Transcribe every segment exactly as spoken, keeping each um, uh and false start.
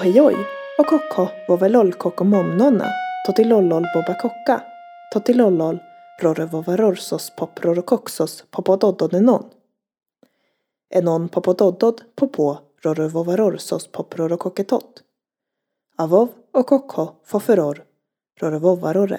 Ohejoj, och kokko vovelol kokomomnonna, totilollol boba kokka, totilollol rorrevovarorsos poprorokoksos popodododenon. Enon popododod popo rorrevovarorsos poprorokoketot. Avov och kokko foferor rorrevovarorre.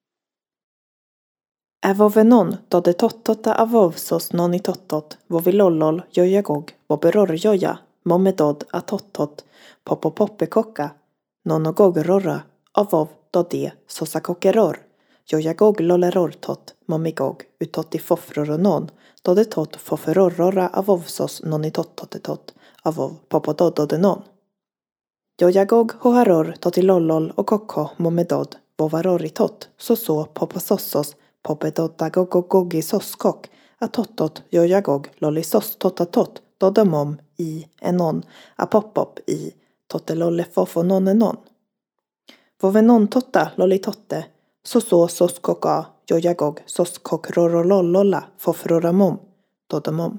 Ävovenon dode tottota avovsos noni tottot vovilollol jojagog voberorjoja momedod atottot popopoppekokka nonogogrorra avov dode sosakokeror jojagog lollerortot momigog utotti fofroronon dode tot foferorrora avovsos noni tottotetot avov popodododenon. Jojagog hoharor totilollol och kokko momedod vovaroritot soso poposossos popedoddagogogogi soskok atottot jojagog lollisos totatot dodamom i enon apopop i totelolleffofononenon. Vovenon totta lollitotte soso soskoka jojagog soskokrorolollolla fofroramom dodamom.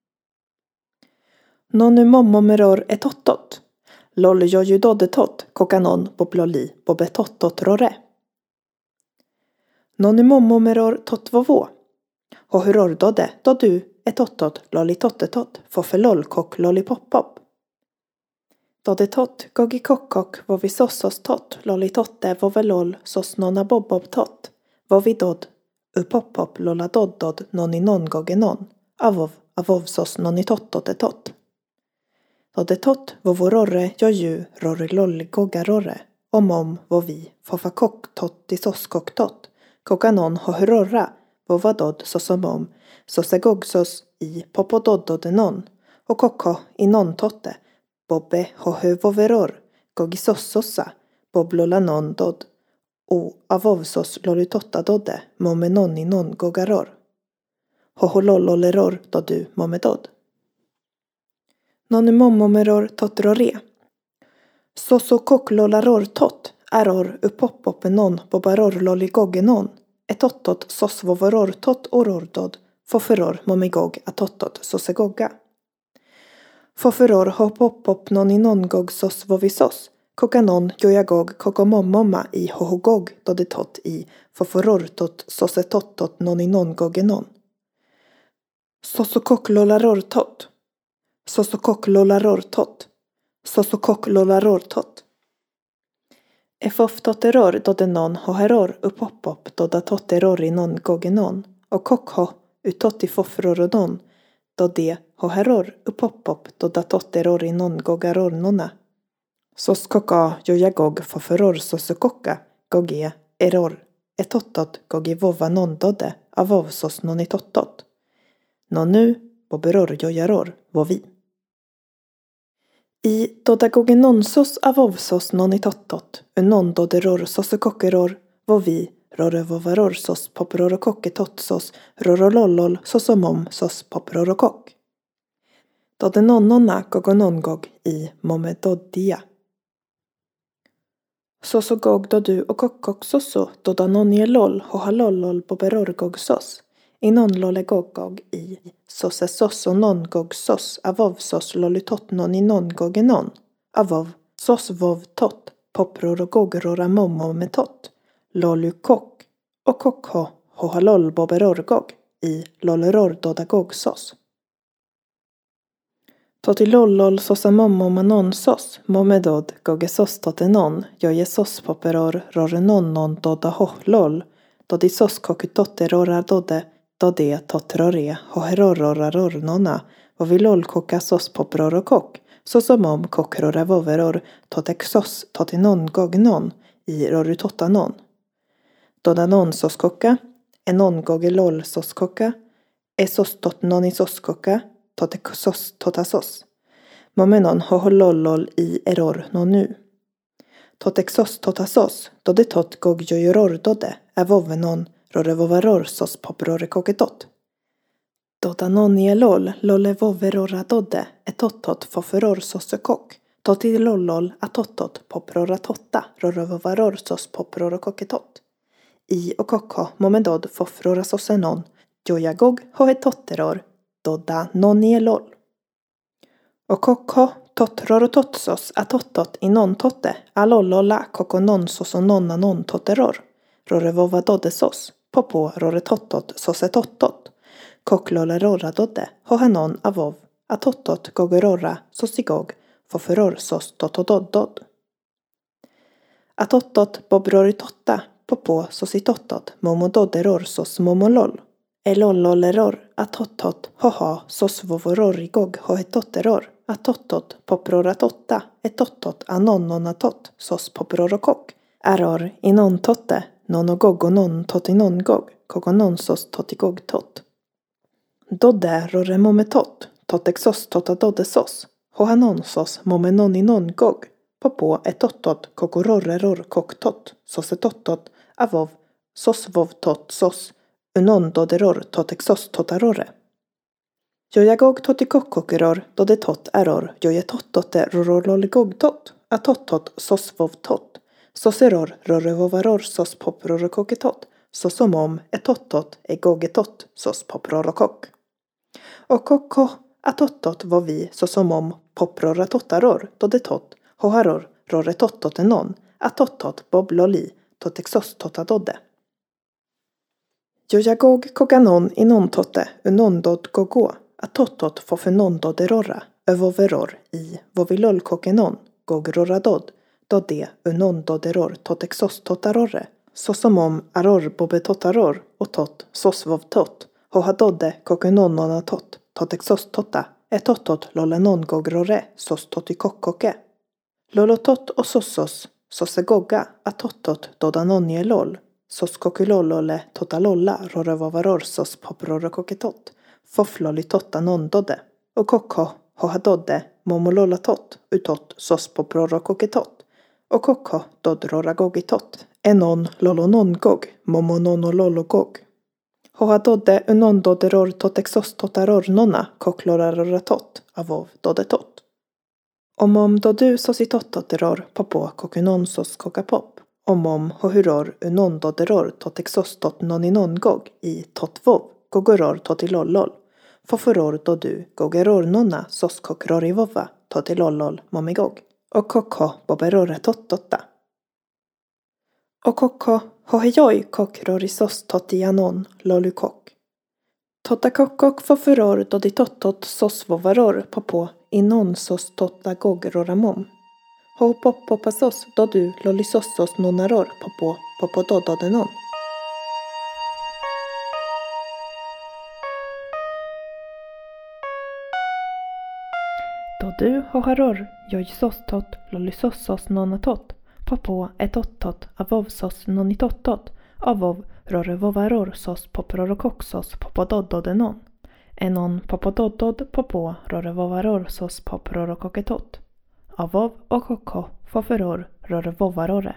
Nonumomomeror etottot loll jojudodetot kokanon bobloli bobetottot rore. Nonumomomeror totvovå hohuror dode dodu etottot lollitottetot fofelol kok lollipoppop. Dodetot gogikokkok vovisossos tot lollitotte vovelol sos nonna bobbobtot vovidod upoppop lolladoddod noninon gogenon avov avovsos nonitottotetot. Dodetot vovororre joju rorre lolligogarorre omom vovi fofakok totti soskoktot kokanon hohurorra vovadod sosomom sosegogsos i popododdodenon och kokko i non-totte bobbe hohuvoveror gogisossossa boblolanon dod o avovsos lolitottadodde momenon i non gogaror hohololloleror dodu momedod. Nonumomomeror totrore soso koklollaror tot eror upoppopenon bobaror lolligogenon etottot sosvovoror tot orordod foferor momigog atottot sosegogga. Foferor hopoppop noninon gog sosvovisos kokanon jojagog kokomomomma i hohogog dodetot i foferor tot sosetottot noninon gogenon. Sosokoklollaror tot sosokoklollaror tot sosokoklollaror tot. Efoftoteror dodenon hoheror upoppop dodatotteror i non gogenon och kokho utotti fofroronon dode hoheror upoppop dodatotteror i non gogarornona. Soskoka jojagog foferor sosokokka goge eror etottot gogi vova non dode avovsos nonitottot. Nonu boberor jojaror vovi. I dodagogenonsos avovsos nonitottot unon doderor sosokokeror vovi rorrevovaror sos poprorokoketotsos rorolollol sosomom sos poprorokok. Dodenonnonna gogonongog i momedoddia. Sosogog dodu och kokkok soso dodanonielol hohalollol boberorgogsos. Inon lollegogog i sosesos och nongog sos avovsos lollitotnon i nongogenon avov sos vov tot poprorogogrora momo metot lollukok och kokho hohaloll boberorgog i lolleror dodagog sos. Totilollol sosamommo manon sos momedod gogesos totenon jojesos poperor rorenonnon doda hohlol dodisos kokutotterora dode dode totrore hoherororarornona vovilol kokasos poprorokok sosomom kokroravoveror totexos totinon gognon i rorutottanon. Dodanon soskokka enon gogelol soskokka esos totnoni soskokka totexos totasos momenon hoholollol i eror nonu. Totexos totasos dode tot gogjojoror dode avovenon rorrevovaror sos poprorikoketot. Dodanonielol lollevoverora dode etottot foferor sosekok totilollol atottot poproratotta rorrevovaror sos poprorokoketot. I och kokho momedod fofrora sosenon jojagog hohetotteror doda nonielol. Och kokho Tottrorototsos atottot i non totte, alollola kokononsos och nonna non totteror. Rorevova doddesos, popo roretottot sosetottot. Koklollerorra dodde, hohanon avov, atottot gogororra sosigog, foferor sos totododdod. Atottot bobroritotta, popo sositottot, momododderor sos momolol. Elollolleror, atottot, hoha, sos vovororigog, hohetotteror. Atottot, poproratotta, etottot, anonnonatott, sos poprorokok. Error, inontotte, nonogogonon totinongog, kogononsos totigogtot. Dodde roremometott, totexos totadoddesos, hohanonsos momenoninongog, popo etottot, kokororreror koktot, sosetottot, avov, sosvovtot sos, unondoderor totexos totarorre. Jojagog totikokkokeror, dodetot error, jojetottotte rorololligogtot, atottot sosvovtot, soseror rorevovaror sos poprorokoketot, sosomom etottot egogetot sos poprorokok. Och kokko atottot var vi sosomom poproratotaror, dodetot, hoharor, roretottot enon, atottot bobloli, totexos totadodde. Jojagog koganon inontotte, unondod gogo, atottot fofenondoderorra, övoveror i vovilolkokenon, gogrorradod, dodde unondoderor totexos totarorre, sosomom aror bobetotaror och tot sosvovtot, hohadodde kokenonnonatot, totexos totta, etottot lollenon gogrorre, sos totikokkoke. Lolotot och sossos, sosegogga, atottot dodanonjelol, sos kokulollole totalolla rorevovaror sos poprorokoketot, foflolitotta nondodde, och kokko hohadodde momololatot utot sos poprorokoketot, och kokko dodroragogitot, enon lolonongog, momononolologog. Hohadodde unondoderor totexos totaror nonna kokloraratot, avov dodetot. Omom dodu sositottoteror popo kokunonsos kokapop. Omom hohuror unondoderor totexos tot noninongog i totvov, gogoror totilollol. Foforor dodu gogeror nonna sos kokrorivova totilollol momigog. Och kokko boberore tottotta. Och kokko hohejoj kokrorisos totianon lolukok. Tottakokkok foforor doditottot sos vovaror popo inon sos totta gogeroramom. Ho poppopasos dodu lolisossos nonaror popo popodododenon. Dodu hoharor jojsostot lolisossos nonatot, popo etottot avovsos nonitottot, avov rorevovaror sos poprorokoksos popodododenon. Enon popododod popo rorevovaror sos poprorokoketot. Avov och kokko foferor rorevovarore.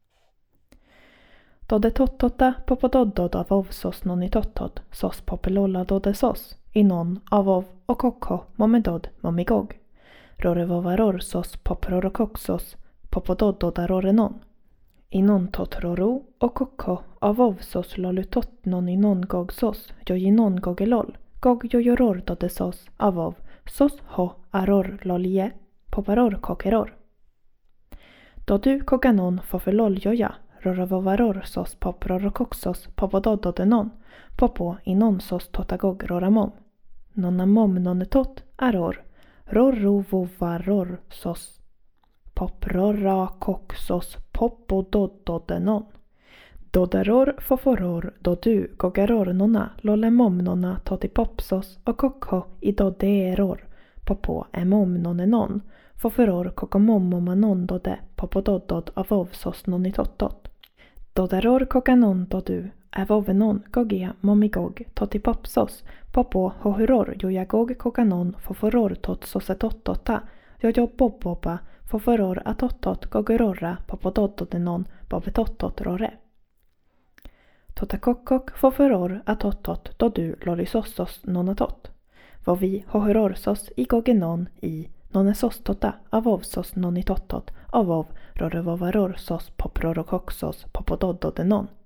Dodetottotta popododdod avov sos nonitottot sos popelolla dodesos, inon avov och kokko momedod momigog. Rorevovaror sos poprorokoksos popododdodarorenon. Inon totroro och kokko avov sos lolutot noninongog sos jojinongogelol. Gog jojoror dodesos avov sos ho aror lolie poparor kokeror. Dodu koganon fofelol joja rorevovaror sos poprorokoksos popododdodenon popo inon sos totagog roramom. Nonamom nonetot aror rorrovovaror sos poprorakoksos popododdodenon. Dodaror foforor dodu gogaror nonna lollemom nonna totipopsos och kokko i dodeeror popo emom nonenon foforor kokomomomanon dode popododdod avovsos nonitottot. Dodaror kokanon dodu avovenon gogia momigog totipopsos popo hohuror jojagog kokanon foforor tot sosetottotta jojoboboba foforor atottot gogororra popododdodenon bobetottot rore. Totakokkok foforor atottot dodu lolisossos nonatot. Vovi hohororsos i gogenon i nonesostota avovsos nonitottot avov rorevovaror sos poprorokoksos popododdodenon.